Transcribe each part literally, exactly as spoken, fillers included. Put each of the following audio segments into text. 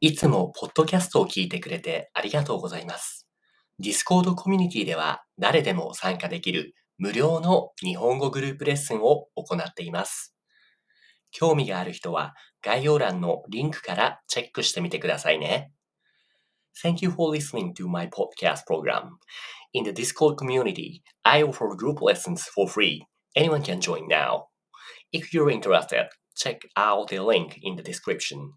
いつもポッドキャストを聞いてくれてありがとうございます。Discord コミュニティでは誰でも参加できる無料の日本語グループレッスンを行っています。興味がある人は概要欄のリンクからチェックしてみてくださいね。Thank you for listening to my podcast program. In the Discord community, I offer group lessons for free. Anyone can join now. If you're interested, check out the link in the description.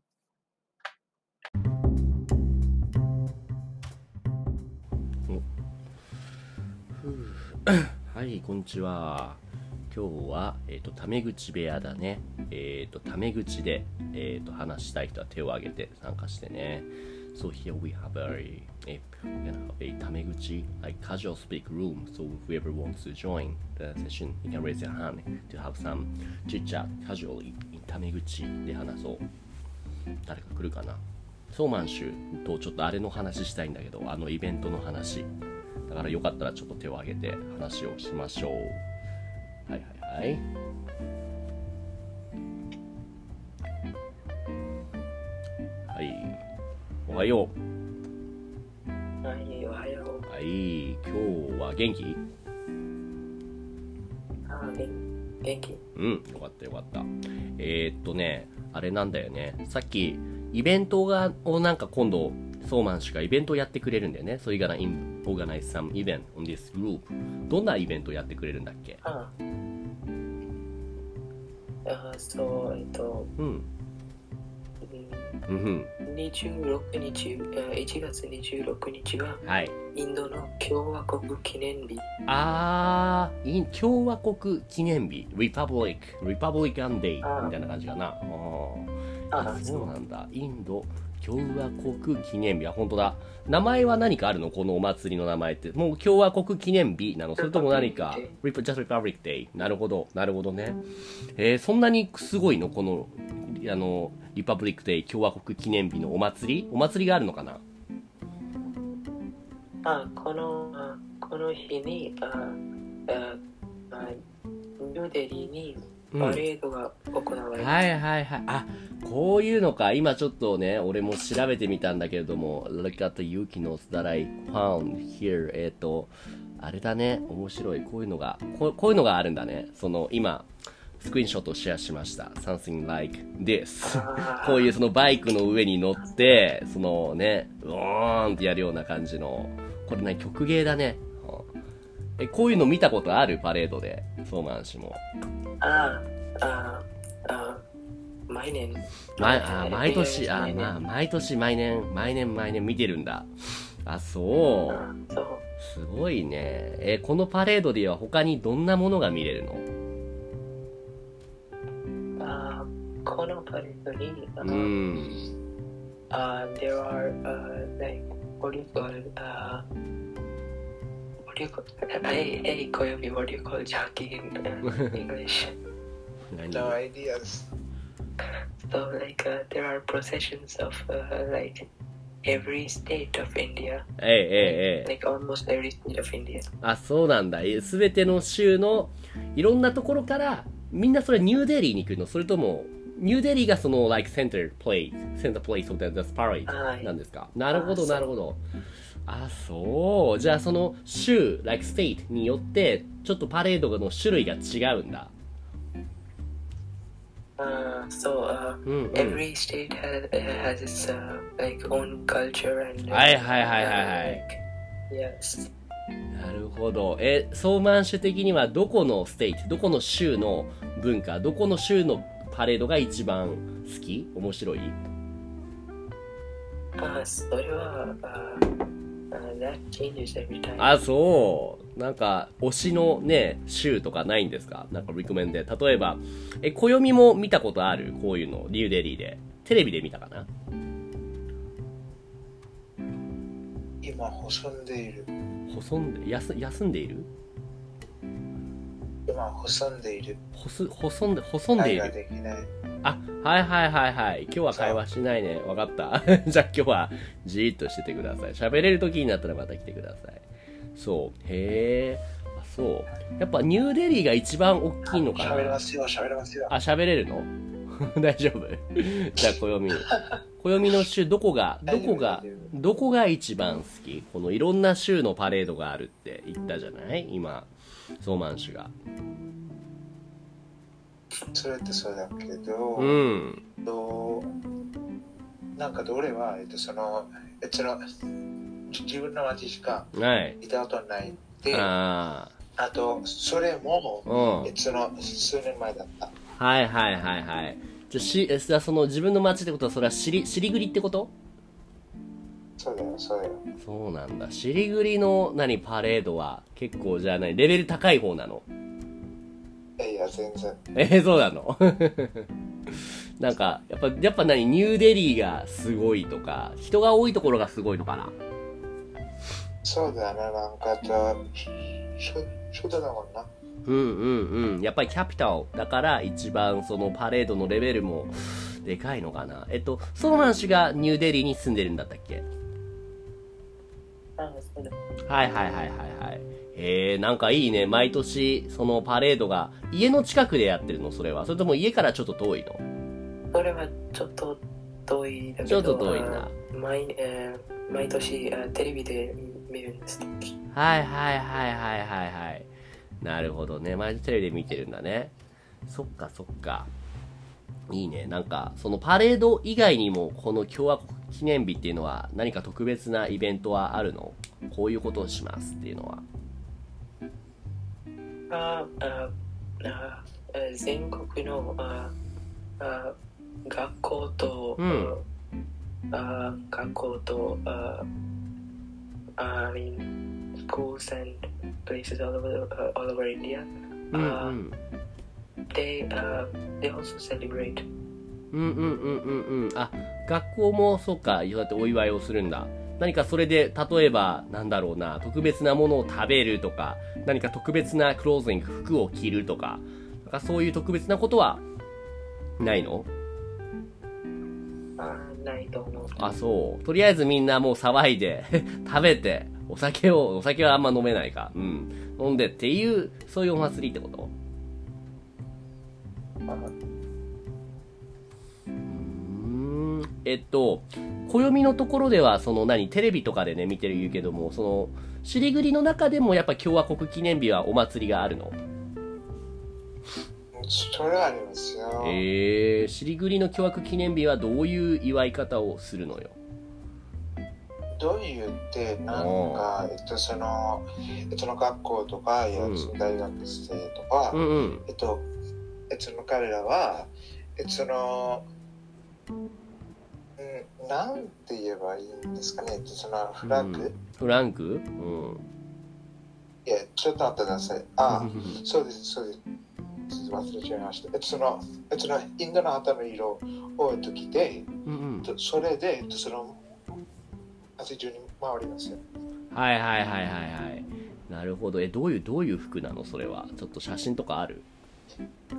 はい、こんにちは。今日は、えっ、ー、と、タメ口部屋だね。えっ、ー、と、タメ口で、えっ、ー、と、話したい人は手を挙げて参加してね。So here we have a, a, a タメ口 like casual speak room. So whoever wants to join the session, you can raise your hand to have some chit chat casually in タメ口で話そう。誰か来るかな。ソーマンシュとちょっとあれの話したいんだけど、あのイベントの話。だからよかったらちょっと手を挙げて話をしましょう。はいはいはい。はい。おはよう。はい、おはよう。 はい、今日は元気？ あ、元気。 うん、よかったよかった。えー、っとね、あれなんだよね。さっきイベントがをなんか今度ソーマン氏がイベントをやってくれるんだよね。So you're gonna organize some event on this group. どんなイベントをやってくれるんだっけ？ ああ、そう、えっと、 うん。うん、 にじゅうろくにち、いちがつにじゅうろくにちは、 はい、 インドの共和国記念日。 あー、共和国記念日、Republic、Republican Day みたいな感じかな。ああ、そうなんだ。インド共和国記念日は本当だ。名前は何かあるの？このお祭りの名前って。もう共和国記念日なの？それとも何か Just Republic Day。なるほど、なるほどね。えー、そんなにすごいの？このあのリパブリックデー共和国記念日のお祭り？お祭りがあるのかな？ あ、このあこの日にあああニューデリーにパレードが行われます、うん、 はいはいはい。あ、こういうのか。今ちょっとね、俺も調べてみたんだけれども、Look at the Yuki notes that I found here. えっと、あれだね。面白い。こういうのが、こう、こういうのがあるんだね。その、今、スクリーンショットをシェアしました。Something like this. こういうそのバイクの上に乗って、そのね、うーんってやるような感じの、これね、曲芸だね。え、こういうの見たことある？パレードで。ソーマン氏も。 ああ、あ毎年。 毎あ毎年、あまあ、毎年、毎年、毎年、毎年見てるんだ。あ、そう。 あそう。 すごいね。え、このパレードでは他にどんなものが見れるの？ あこのパレードに、 うん。 あ、there are, uh, like, what do you call it? Uh, what do you call it? Hey, hey, Koyomi, what do you call jockey in uh, English? No ideas. So, like, uh, there are processions of, uh, like, every state of India. ええええ。 Like, almost every state of India. あ、そうなんだ。すべての州のいろんなところから、みんなそれニューデリーに来るの？それとも、ニューデリーがその、like, center place, center place of the, the parade なんですか？なるほど、なるほど。あ、そう。じゃあその州、like state によって、ちょっとパレードの種類が違うんだ。 Uh, so, uh, mm-hmm. every state has, has its, uh, like, own culture and... はいはいはいはいはい。 Yes. なるほど。え、ソーマン州的にはどこのステイト、どこの州の文化、どこの州のパレードが一番好き？面白い？ あ、それは、uh, uh, that changes every time. あ、そう。なんか、推しのね、州とかないんですか？なんか、リコメンで。例えば、え、暦も見たことある？こういうの、ニューデリーで。テレビで見たかな？ 今、細んでいる。 細んで、休、休んでいる？ 今、細んでいる。 細、細んで、細んでいる。 会話できない。 あ、はいはいはいはい。今日は会話しないね。わかった。じゃあ今日はじーっとしててください。喋れる時になったらまた来てください。そう。へえ。あ、そう。やっぱニューデリーが一番大きいのかな。 喋れますよ、喋れますよ。 あ、喋れるの？ 大丈夫じゃあ、暦。暦の州、どこが、どこが、どこが一番好き？このいろんな州のパレードがあるって言ったじゃない今、ソーマン氏が。 それってそうだけど、 うん。 となんかどれは、えっと、その、えっと、その自分の街しかはい。 いたことないで、 ああと、それも、 あ。うん。 えっと、その数年前だった。 はいはいはいはい。じゃあ、し、じゃあその自分の街ってことは、それはしり、しりぐりってこと？ そうだよ、そうだよ。 そうなんだ。しりぐりの、何、パレードは、結構じゃあ何、レベル高い方なの？ いや、全然。 えー、そうなのなんか、やっぱ、やっぱ何、ニューデリーがすごいとか、人が多いところがすごいのかな？ そうだな、なんか、じゃあ、しょ、初だもんな。 うんうんうん。やっぱりキャピタルだから一番そのパレードのレベルもでかいのかな。えっと、ソーマン氏がニューデリーに住んでるんだったっけ？ あ、そうだ。 はいはいはいはいはい。へえ、なんかいいね。毎年そのパレードが家の近くでやってるの？それは。それとも家からちょっと遠いの？ それはちょっと遠いだけど、 ちょっと遠いな。 毎、えー、毎年あテレビで見るんです。 はいはいはいはいはいはい。なるほどね。毎日テレビで見てるんだね。そっかそっか。いいね。なんか、そのパレード以外にも、この共和国記念日っていうのは何か特別なイベントはあるの？こういうことをしますっていうのは。 あああ全国のああ学校と、 うん、 あ学校とあ I mean schools and places all over uh, all over India. うんうん Uh, they uh, they also celebrate. うんうんうんうんうん。あ、学校もそうか、そうやってお祝いをするんだ。何かそれで、例えば、なんだろうな、特別なものを食べるとか、何か特別なクローズング、服を着るとか、なんかそういう特別なことはないの？ あないと思う。 あ、そう。とりあえずみんなもう騒いで、食べて、お酒を、お酒はあんま飲めないか。うん。飲んでっていう、そういうお祭りってこと？うーん。えっと、暦のところでは、その何、テレビとかでね、見てる言うけども、その、尻栗の中でもやっぱ共和国記念日はお祭りがあるの？ それはありますよ。 えー、尻栗の共和国記念日はどういう祝い方をするのよ？ どういうって、なんか、えっと、その、えっと、の学校とか、いや、その大学生とか、 うんうん。 えっと、えっと、彼らは、えっと、その、うん、なんて言えばいいんですかね、えっと、その、フラッグ、 うん、フランク？うん。 いや、ちょっと待ってください。あ、そうです、そうです。忘れちゃいました。えっと、その、えっと、インドの旗の色を、えっと、着て、 うんうん、 それで、えっと、その、街中に回りますよ。 はいはいはいはいはい。なるほど。え、どういう、どういう服なのそれは？ちょっと写真とかある？ うん、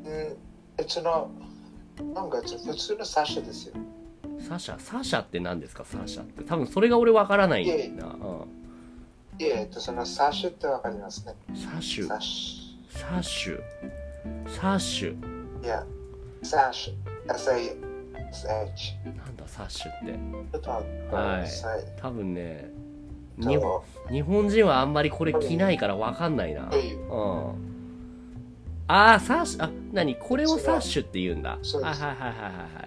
えっと、その、なんか、普通のサッシャですよ。 サシャ？サシャって何ですか？サシャって。多分それが俺わからないんだな。うん。 いえ、えっと、そのサッシュってわかりますね。 サシュ。 サッシサシュ。サシュ。 ュ。いや、サッシュ。エスエーエイチ。 なんだサシュって。 ちょっと待ってくはいださい。 多分ね、 とに日本人はあんまりこれ着ないからわかんないな。うん。あー、サッシュ、あ、何これをサッシュって言うんだ。はいはいはいはいはい。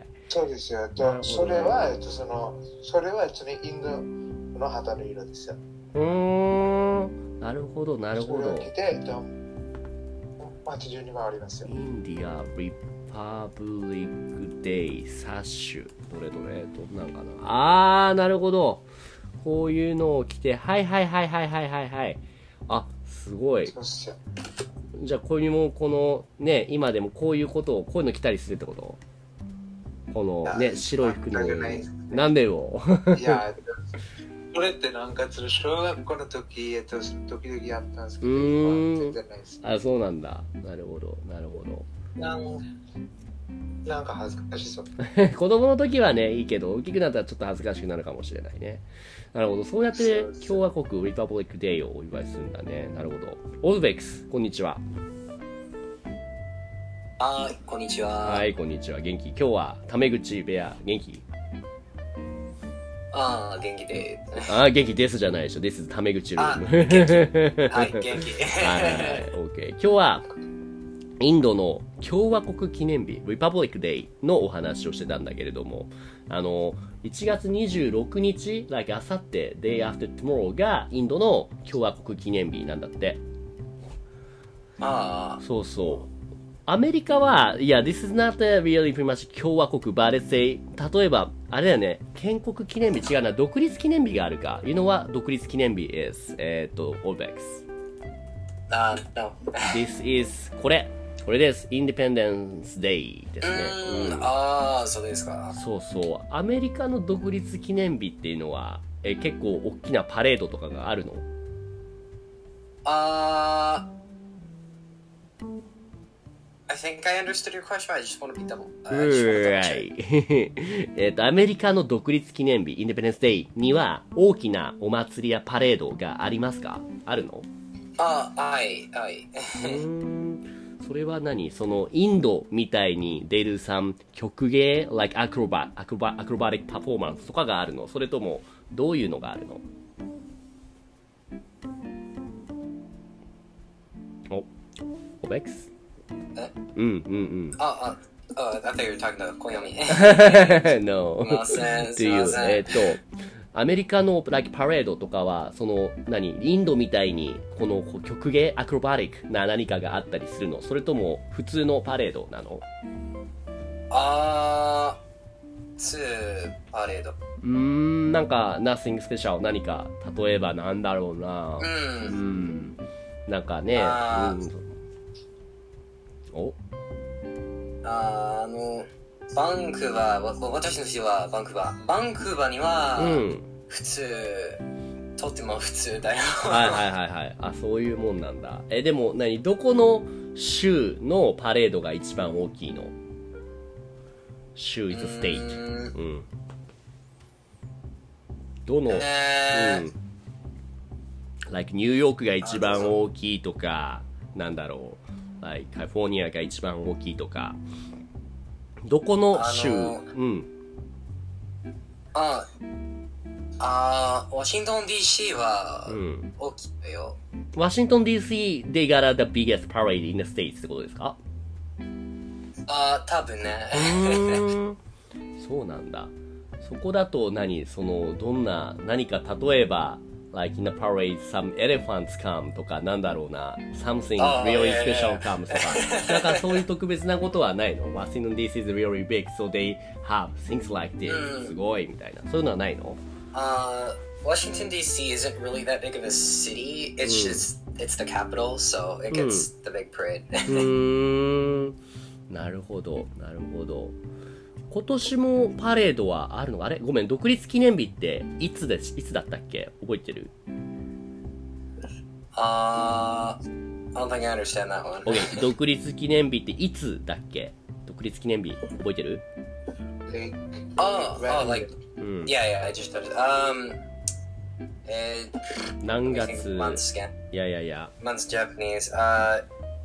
そうですよ。とそれは、えっと、その、それは、えっとね、インドの旗の色ですよ。 うーん。なるほど、なるほど。 それを着て、えっと、街中に回りますよ。 インディア・リパブリック・デイ・サッシュ。どれどれどんなんかな。あー、なるほど。こういうのを着て、はいはいはいはいはいはいはい。あ、すごい。 そうっすよ。 じゃあこういうもこのね今でもこういうことをこういうの着たりするってこと？このね白い服の上になんでよいやこれってなんか小学校の時えっと時々やったんですけど全然ないです。 あ、そうなんだ。なるほどなるほど。 なんなんか恥ずかしそう子供の時はねいいけど大きくなったらちょっと恥ずかしくなるかもしれないね。なるほど。そうやって共和国リパブリックデーをお祝いするんだね。なるほど。オズベックスこんにちは。 あー、こんにちは。 はい、こんにちは。元気？今日はタメ口部屋、元気？ あー、元気で。 あー、元気ですじゃないでしょ。This is タメ口ルーム。 はい、元気。 はいはいはい、OK。今日は、インドの共和国記念日、Republic Day のお話をしてたんだけれども、あの、いちがつにじゅうろくにち、like あさって、Day After Tomorrow がインドの共和国記念日なんだって。 ああ。 そうそう。アメリカは、いや、this is not really pretty much 共和国、but let's say、例えば、あれだよね、建国記念日違うな、独立記念日があるか。You know what 独立記念日 is? えっと、オーベックス。 あー、no。 This is、これ。これです。Independence Day ですね。 うん、 うん、 ああ、そうですか。 そうそう。アメリカの独立記念日っていうのは、え結構大きなパレードとかがあるの？ あー。I think I understood your question. I just want to be double. I just want to double check. えっと、アメリカの独立記念日、Independence Day には大きなお祭りやパレードがありますか？あるの？ あー、はい、はい。 うーん、それは何？そのインドみたいに出るさん曲芸 like acrobat, acrobat, acrobatic performance とかがあるの？それともどういうのがあるの？お、オベックス？ え？ うんうんうん。 あ、あ、あ、I thought you were talking about 小読み。 no. すいません、 っていう、 すいません。 えっと、アメリカの、like、パレードとかは、その、何、インドみたいに、この曲芸、アクロバティックな何かがあったりするの？それとも、普通のパレードなの？ あー、ツーパレード。 うーん、なんか、nothing special 何か、例えばなんだろうな。 う。 うんん。なんかね、 あーうん。おあー、あの、バンクーバー、わ私の家はバンクーバー。バンクーバーには、 うん。 普通、とっても普通だよ。 はいはいはいはい。あ、そういうもんなんだ。え、でも何、どこの州のパレードが一番大きいの？州 is a state。 うーんうん。どの、 えーうん。like ニューヨークが一番大きいとか、なんだろう。like カリフォルニアが一番大きいとか。どこの州？ あのうん。 ああー、ワシントン ディーシー はうん。 大きいよ。 ワシントン ディーシー they got the biggest parade in the states ってことですか？ あー、多分ね。 うーんそうなんだ。そこだと何その、どんな、何か例えば、like in the parade some elephants come とかなんだろうな、something あー really いやいやい special や comes とか、だからそういう特別なことはないの？ Washington ディーシー is really big so they have things like this、 うんすごいみたいな。そういうのはないの？ Uh, Washington ディーシー isn't really that big of a city. It's just it's the capital, so it gets the big parade. うーんなるほどなるほど。今年もパレードはあるの？あれごめん、独立記念日っていつですいつだったっけ？覚えてる？ uh, I don't think I understand that one. OK 独立記念日っていつだっけ？独立記念日覚えてる？ Like, Oh, oh, like うん yeah, yeah. I just noticed. Um, it, 何 I think 月？ months again. いやいやいや Months Japanese. Uh,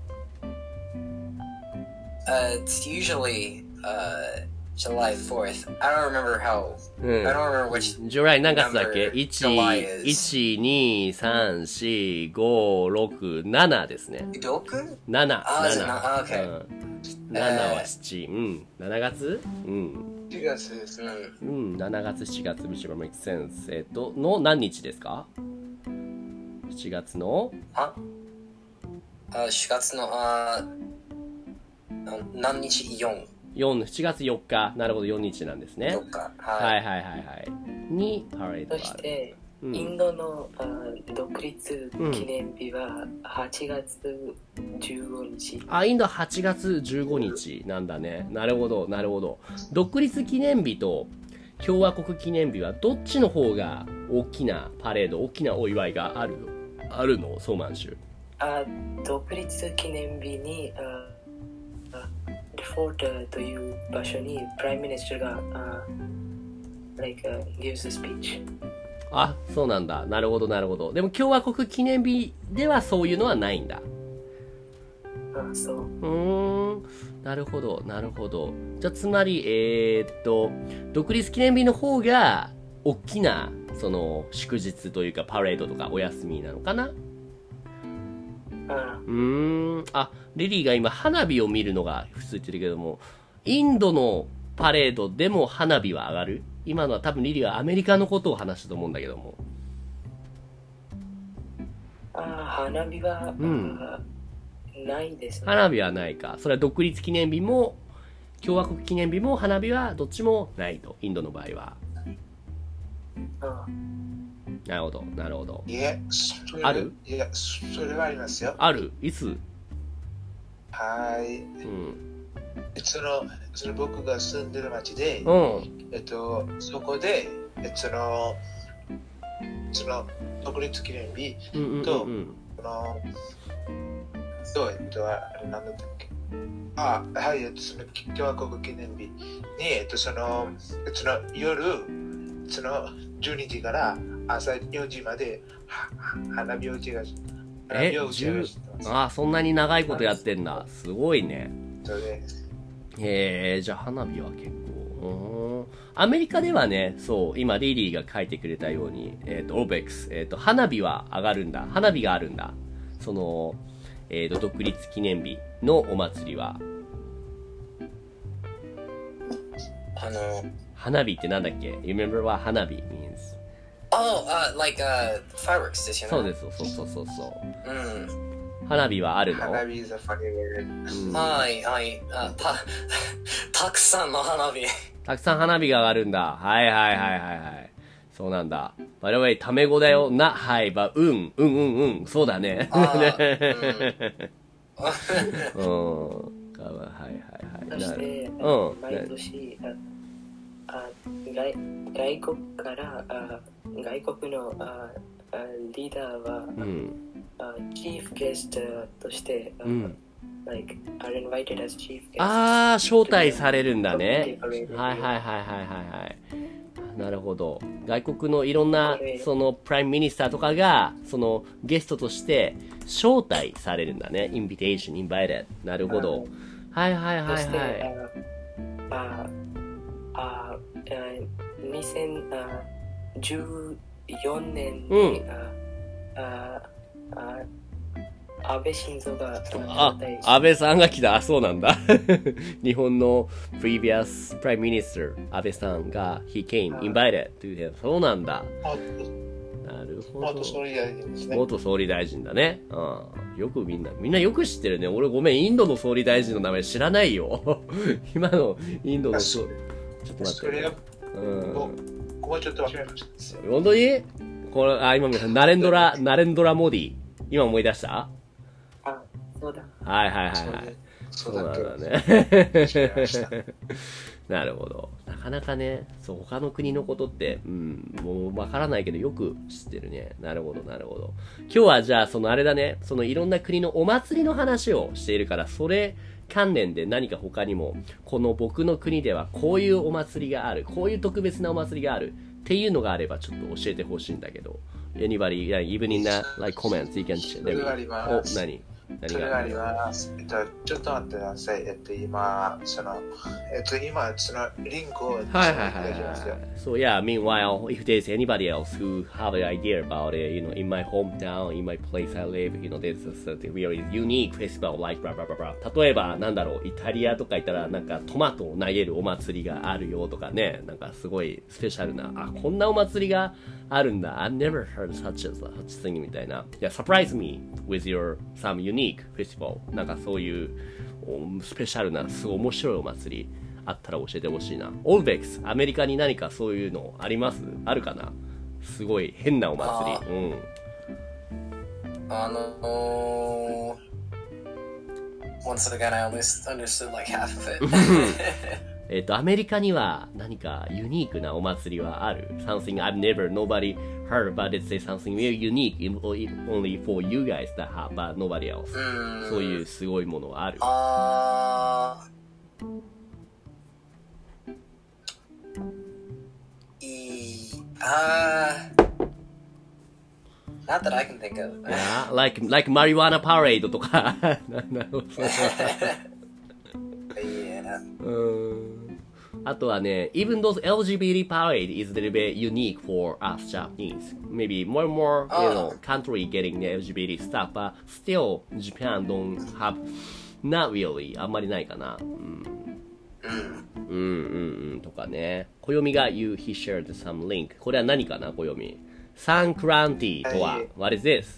uh, it's usually uh July fourth. I don't remember how. うん I don't remember which. ジュライ何月だっけ？ number いち、 July is. いち、に、さん、し、ご、ろく、ななですね。 Doku? なな、 あーなな。 あー OK うん、ななはしち、うん。しちがつうん。 しがつですね。 うん、しちがつ、しがつ、which makes sense。えっと、の何日ですか？ しち 月のああ、しがつの、あな何日 ?よん。 よん、しちがつよっか。なるほど、よっかなんですね。 よっか。 ははいい。 はいはいはい。に、パレードそがある。 して、 うんインドのあ独立記念日ははちがつじゅうごにち。 あ、インドははちがつじゅうごにちなんだね。なるほど、なるほど。独立記念日と共和国記念日はどっちの方が大きなパレード、大きなお祝いがあるの？あるの？ソーマン州。 あ独立記念日にああデフォルトという場所にプライムミニスターがあ like、uh, gives a speech。 あ、そうなんだ。なるほど、なるほど。でも共和国記念日ではそういうのはないんだ。 あそう。 うーん。 なるほど、なるほど。じゃあ、つまり、えー、っと、独立記念日の方が、大きな、その、祝日というか、パレードとかお休みなのかな？ あうーん。あ、リリーが今、花火を見るのが普通言ってるけども、インドのパレードでも花火は上がる？今のは多分リリーはアメリカのことを話したと思うんだけども。 あ、花火は、 うん、 あないですね。 花火はないか。それは独立記念日も、共和国記念日も花火はどっちもないと。インドの場合は。 あなるほど、なるほど。 いえ、それある？ いや、それはありますよ。 ある？いつ？ はい。 うん。 その、その僕が住んでる町で、 うん。 えっと、そこで、えその、その、独立記念日うんうんうんと、 うんその、と、えっと、あれなんだったっけ。あ、はい、えっと、その共和国記念日に、えっと、その、その夜、そのじゅうにじから朝よじまでは花火を打ちがし、花え火を打ちがしてます。 ああ、そんなに長いことやってんだ。すごいね。 そうです。 へえ、じゃあ花火は結構。うーん。アメリカではね、そう、今リリーが書いてくれたように、えっ、と、オーベックス、えっ、と、花火は上がるんだ。花火があるんだ。その、えっ、と、独立記念日のお祭りは。 あの、 花火ってなんだっけ？ You remember what 花火 means? Oh, uh, like, uh, fireworks ですよね。 そうです、そうそうそうそう。 うん。 花火はあるの？ 花火 is a funny word。 うん、 はい、はい。あ、た、たくさんの花火。 たくさん花火が上がるんだ。はいはいはいはいはい。そうなんだ。By the way、タメ語だよ。な、はい、ば、うん、うんうんうん。そうだね。 あーうん。はいはいはい。 そして、 うん。 毎年、ああ外外国からあ外国のああリーダーは、 うん、 あチーフゲストとして、 うん、 like, are invited as chief guests. ああ、招待されるんだね。はいはいはいはいはいはい。なるほど。外国のいろんな、その、プライムミニスターとかが、その、ゲストとして、招待されるんだね。インビテーション、invited。なるほど。はいはいはいはい。 そして、あああにせんじゅうよねんに、うん、ああ安倍晋三があ、安倍さんが来た。あ、そうなんだ。日本の previous prime minister 安倍さんが he came invited to him。そうなんだ。なるほど。 元総理大臣ですね。 元総理大臣だね。うん。よくみんな、みんなよく知ってるね。俺ごめん、インドの総理大臣の名前知らないよ。今のインドの総理。ちょっと待って、ね。うん。 ここちょっと忘れました。 本当にこれ、あ、今見た。ナレンドラ、ナレンドラモディ。今思い出した？ あ、そうだ。 はいはいはいはい。 そうなんだね。なるほど。なかなかね、そう、他の国のことって、うん、もうわからないけどよく知ってるね。なるほどなるほど。今日はじゃあ、そのあれだね、そのいろんな国のお祭りの話をしているから、それ関連で何か他にも、この僕の国ではこういうお祭りがある、こういう特別なお祭りがあるっていうのがあればちょっと教えてほしいんだけど。Anybody, even in that, like, comments, you can share. それがあります。 お、何それがあります。えっと、ちょっと待ってください。えっと、今、その、えっと、今、その、リンクを、はいはいはい。 So, yeah, meanwhile, if there's anybody else who have an idea about it, you know, in my hometown, in my place I live, you know, there's a certain really unique festival, like, blah, blah, blah, blah. 例えば、なんだろう、イタリアとか行ったら、なんか、トマトを投げるお祭りがあるよとかね、なんか、すごいスペシャルな、あ、こんなお祭りがあるんだ。I've never heard such a such thing みたいな。Yeah, surprise me with your some unique festival. なんかそういうスペシャルな、すごい面白いお祭りあったら教えてほしいな。オールベックス、アメリカに何かそういうのあります？あるかな？すごい変なお祭り。うん。 あのー、once again I only understood like half of it. えっと、アメリカには何かユニークなお祭りはある？ Something I've never, nobody heard, but it's something very unique, only for you guys that have, but nobody else. そういうすごいものはある？ あー、いい、あー、not that I can think of. Yeah, like, like marijuana parade とか。なるほど。 いん。あとはね、even though L G B T parade is a little bit unique for us Japanese, maybe more and more, you know, country getting the L G B T stuff, but still Japan don't have, not really, あんまりないかな。うん。うんうんうんとかね。暦が you, he shared some link. これは何かな、暦。サンクランティとは、What is this?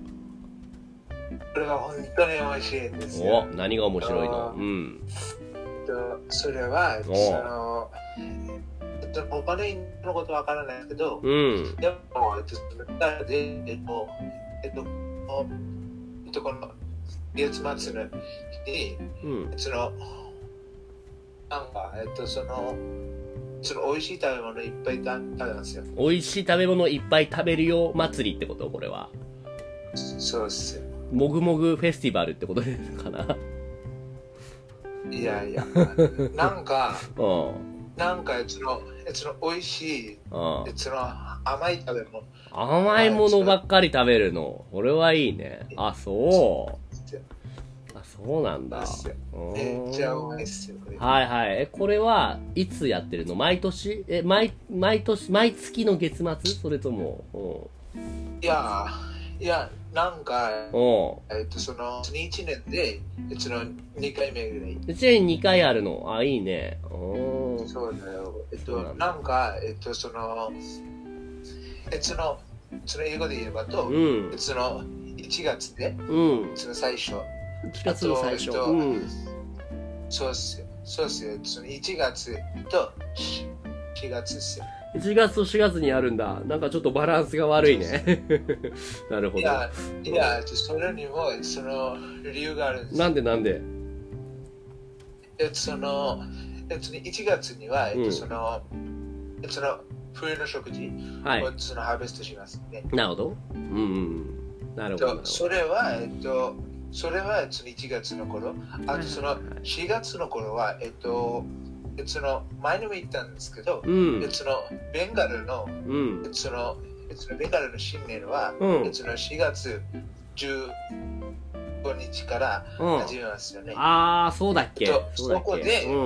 これは本当に美味しいんですよ。 お、何が面白いの？うん。 それは、その、えっと、お金のことわからないけど、 うん、 でも、えっと、そので、えっと、えっと、えっと、この月末の日に、うん、その、なんか、えっと、その、その美味しい食べ物いっぱい食べますよ。 美味しい食べ物いっぱい食べるよ祭りってことこれは。 そうっすよ。 もぐもぐフェスティバルってことかな。 いやいや、なんか、なんかその、その美味しい、その甘い食べ物。 甘いものばっかり食べるの。これはいいね。あ、そう。あ、そうなんだ。 めっちゃうまいっすよ。 はいはい。え、これはいつやってるの？毎年？え、毎、毎年、毎月の月末？それとも。 いや、いや、なんか、えっと、その、いちねんで、その、にかいめぐらい。 いちねんにかいあるの？あ、いいね。 そうだよ。えっと、なんか、えっと、その、えその、その英語で言えばと、うん、その、いちがつで、うん、その最初。 いちがつの最初。うん、 そうっすよ。そうっすよ。そのいちがつとしがつっすよ。 いちがつとしがつにあるんだ。なんかちょっとバランスが悪いね。なるほど。いや、いや、それにもその理由があるんです。 なんでなんで？ えその、えそのいちがつには、えっと、その、うん、その冬の食事をそのハーベストしますね。 なるほど。うんうん。なるほど。 それは、えっと、それはそのいちがつの頃、あとそのしがつの頃は、えっと、その前にも言ったんですけど、うん、そのベンガルの、うん、そのそのベンガルの新年は、うん、そのしがつじゅうごにちから始めますよね。 うん、ああ、そうだっけ。 そ, そこで、うん、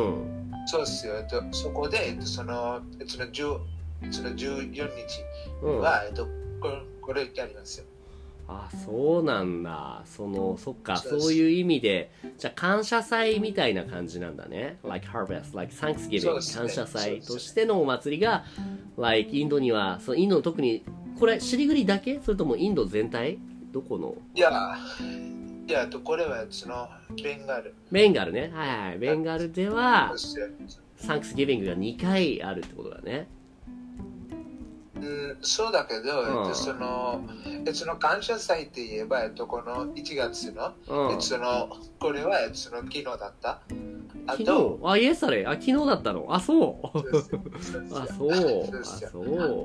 そうですよ。そこでそのそのじゅうそのじゅうよっかは、うん、えっとこれこれやりますよ。 あ、そうなんだ。その、そっか、そういう意味で、じゃあ感謝祭みたいな感じなんだね。like harvest, like Thanksgiving、ね、感謝祭としてのお祭りが、like インドには、そのインドの特に、これ、シリグリだけ？それともインド全体？どこの？ いや、いや、これはその、ベンガル。 ベンガルね。はいはい。ベンガルでは、Thanksgiving がにかいあるってことだね。 うん、そうだけど、うん、えっと、その、その感謝祭って言えば、えっと、このいちがつの、うん、えっと、その、これは、えっと、その昨日だった。 あと、あ、イエスタレ、あ、昨日だったの。あ、そう。あ、そう。あ、そう。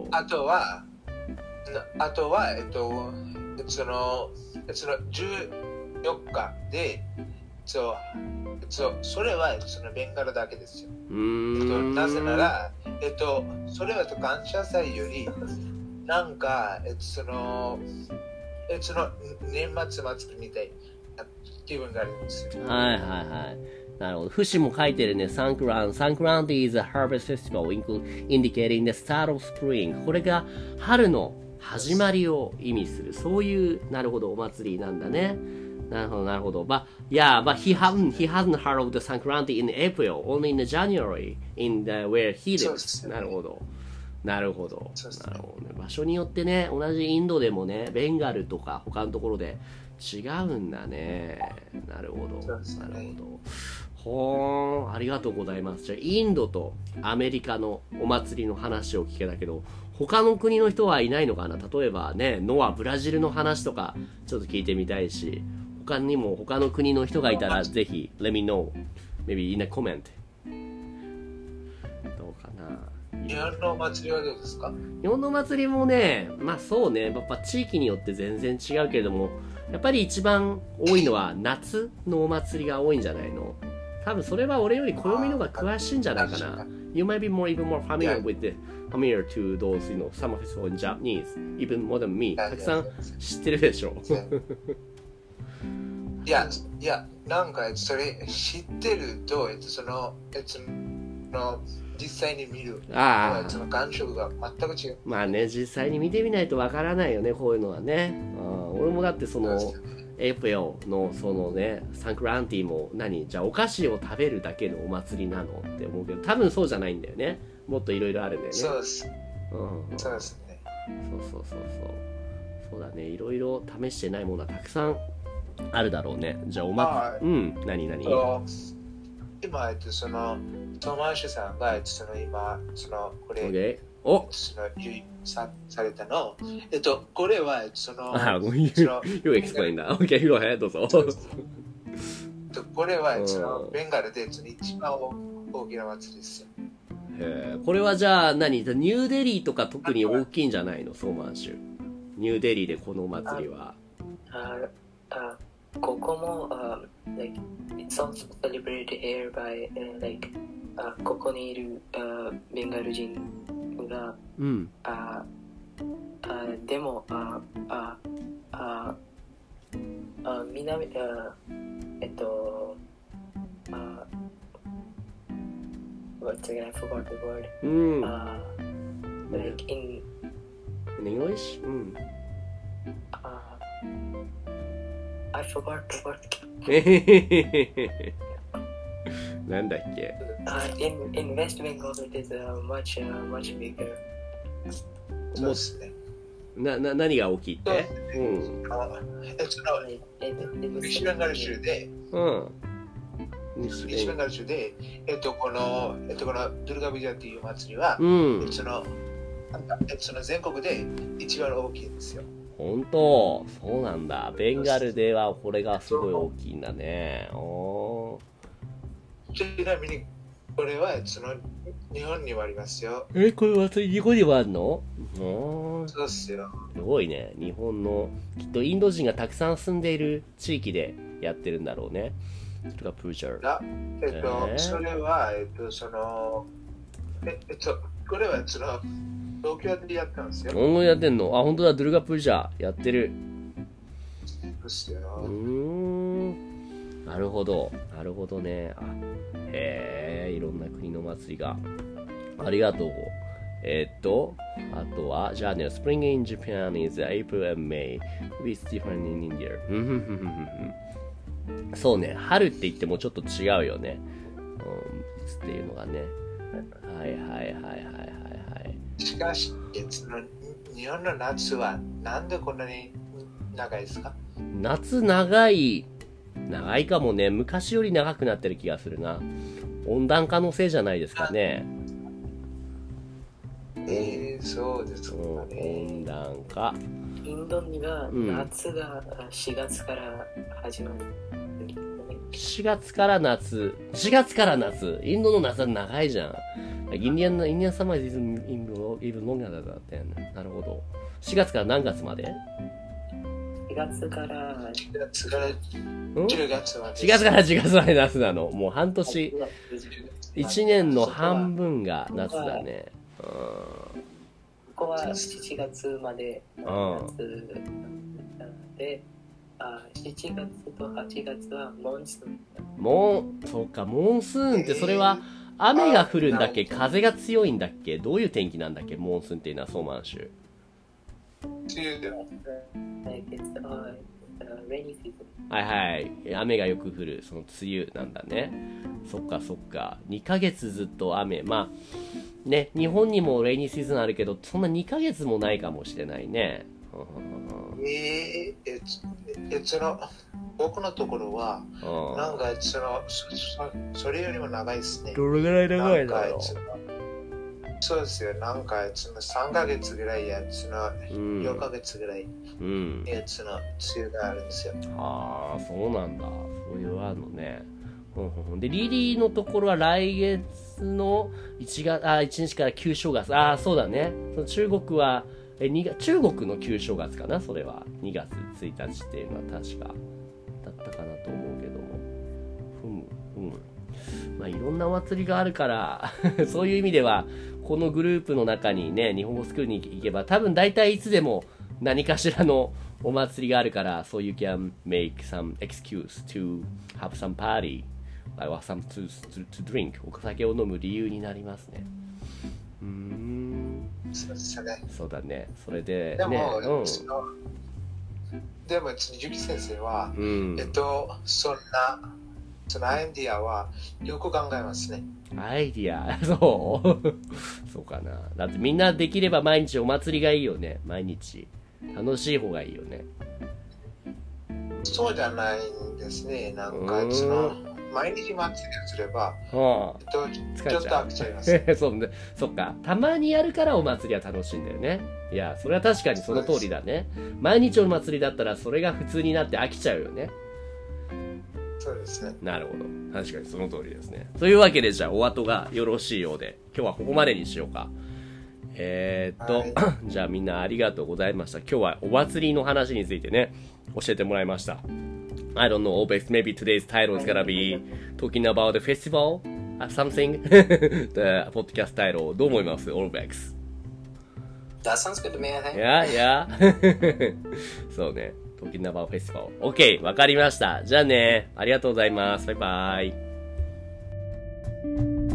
あとは、あとは、えっと、その、そのじゅうよっかで、そう、そう、それはそのベンガルだけですよ。 うーん、 えっと、なぜなら、えっと、それは感謝祭より、なんか、えっと、その、えっと、その年末祭りみたいな気分があるんですよ。 はいはいはい。なるほど。節も書いてるね。サンクラン。サンクラン is a harvest festival indicating the start of spring. これが春の始まりを意味する。そういう、なるほど、お祭りなんだね。なるほど、なるほど。But, yeah, but he hasn't, he hasn't heard of the Sankranti in April, only in January, in the, where he lives. なるほど。なるほど。なるほどね。場所によってね、同じインドでもね、ベンガルとか他のところで違うんだね。なるほど。なるほど。ほーん、ありがとうございます。じゃあ、インドとアメリカのお祭りの話を聞けたけど、他の国の人はいないのかな？例えばね、ノア、ブラジルの話とか、ちょっと聞いてみたいし、他にも他の国の人がいたらぜひ let me know maybe in a comment どうかな。 日本のお祭りはどうですか？ 日本のお祭りもね、まあそうね、やっぱ地域によって全然違うけれども、やっぱり一番多いのは夏のお祭りが多いんじゃないの？多分それは俺より暦の方が詳しいんじゃないかな。You might be more even more familiar with the familiar to those, you know, summer festival in Japanese even more than me. たくさん知ってるでしょ。 いや、いや、なんかそれ知ってると、えっと、その、えっと、その実際に見る、 ああ、 その感触が全く違う。 まあね、実際に見てみないとわからないよね、こういうのはね。ああ、俺もだってその、エプリルのそのね、サンクランティも何じゃあお菓子を食べるだけのお祭りなのって思うけど、多分そうじゃないんだよね。もっといろいろあるんだよね。 そうです。 うんうん、 そうですね。 そうそうそうそう。そうだね、いろいろ試してないものはたくさんあるだろうね。じゃあおま、うん、何何今、えっと、その、トマーシュさんが、えっと、その今、その、これ、 okay. おその、さされたの、えっと、これは、その、 あ、ごめん、you explain that. OK, go ahead, どうぞ。 これは、その、ベンガルで、その一番大きな祭りですよ。 へえ、これはじゃあ何、ニューデリーとか特に大きいんじゃないの、ソーマン州。ニューデリーでこのお祭りは。 ああここも、uh, like, it's also celebrated here by, uh, like, uh, ここにいる、uh, ベンガル人が、 うん。 ああでも、ああああ南、あえっと、あ what's again? I forgot the word. うん。 Uh, like in, in English? うん。 Uh, I forgot the word. なんだっけ Uh, in, in West Bengal, it is uh, much, uh, much bigger. そうですね。 な、な、何が大きいってうん。 え、その、西ベンガル州で、 うん。 西ベンガル州で、えっと、この、えっと、このドゥルガビジャっていう祭りは、 うん。 その、その全国で一番大きいんですよ。 本当そうなんだ。ベンガルではこれがすごい大きいんだね。おちなみにこれはその日本にもありますよ。 え、これ祭り日本にもあるの？おそうっすよ。 すごいね。日本のきっとインド人がたくさん住んでいる地域でやってるんだろうね。とかプーチャー。 あ、えっと、えー、それはえっとそのええっとこれはその東京でやったんですよ。 東京やってんの？あ、本当だ、ドゥルガプージャーやってる。 そうっすよ。 うーん。なるほど。なるほどね。あ、へえ、いろんな国の祭りが。ありがとう。えー、っと、あとは、じゃあね、Spring in Japan is April and May. It's different in India. そうね、春って言ってもちょっと違うよね。うん、っていうのがね。はいはいはいはいはいはい。 しかし、日本の夏はなんでこんなに長いですか？ 夏長い、長いかもね。昔より長くなってる気がするな。温暖化のせいじゃないですかね。 えー、そうですかね。 温暖化。 インドには夏がしがつから始まる。 しがつから夏。しがつから夏。インドの夏は長いじゃん。インディアン、インディアンサマーイズインド、イブノンガだったよね。なるほど。しがつから何月まで？ しがつから、 しがつからじゅうがつまで。 しがつからじゅうがつまで夏なの。もう半年。いちねんの半分が夏だね。うん。 ここはしちがつまで夏なので、あ、しちがつとはちがつはモンスーン。 モン、そうか、モンスーンってそれは雨が降るんだっけ？風が強いんだっけ？どういう天気なんだっけ？モンスーンっていうのはソーマン州。はいはい。雨がよく降る、その梅雨なんだね。そっかそっか。にかげつずっと雨。まあ、ね、日本にもレイニーシーズンあるけど、そんなにかげつもないかもしれないね。 えー、え、え、その、僕のところは、なんかそのそ、それよりも長いですね。 どれぐらい長いだろう？ そうですよ。なんかそのさんかげつぐらいやつのよんかげつぐらいやつの梅雨があるんですよ。うん、 ああ、そうなんだ。そういうあるのね。で、リリーのところは来月のいちがつ、あ、いちにちから旧正月。ああ、そうだね。その中国は、え、にが中国の旧正月かな、それは。にがつついたちっていうのは確かだったかなと思うけども。ふむ、ふむ。まあ、いろんなお祭りがあるからそういう意味ではこのグループの中にね、日本語スクールに行けば多分大体いつでも何かしらのお祭りがあるから、so you can make some excuse to have some party or some to, to, to drink お酒を飲む理由になりますね。うーん、 そうですね。 そうだね。それででも、 ね、 そのでも、ゆき先生は、 うん、 えっと、そんな、そのアイディアはよく考えますね。 アイディア、そうそうかな。だってみんなできれば毎日お祭りがいいよね。毎日。楽しい方がいいよね。 そうじゃないんですね。なんか、その、毎日祭りをすれば、 はあ、 えっと、ちょっと飽きちゃいます。 そうね、そっか。たまにやるからお祭りは楽しいんだよね。いや、それは確かにその通りだね。毎日お祭りだったらそれが普通になって飽きちゃうよね。 そうですね。 なるほど。確かにその通りですね。というわけで、じゃあお後がよろしいようで、今日はここまでにしようか。えー、っと、はい、じゃあみんなありがとうございました。今日はお祭りの話についてね、教えてもらいました。I don't know, but maybe today's title is gonna be talking about the festival or something. The podcast title. どう思います Orbex? That sounds good to me, I think. Yeah, yeah. そうね。talking about festival. OK, わかりました。じゃあね。ありがとうございます。バイバイ。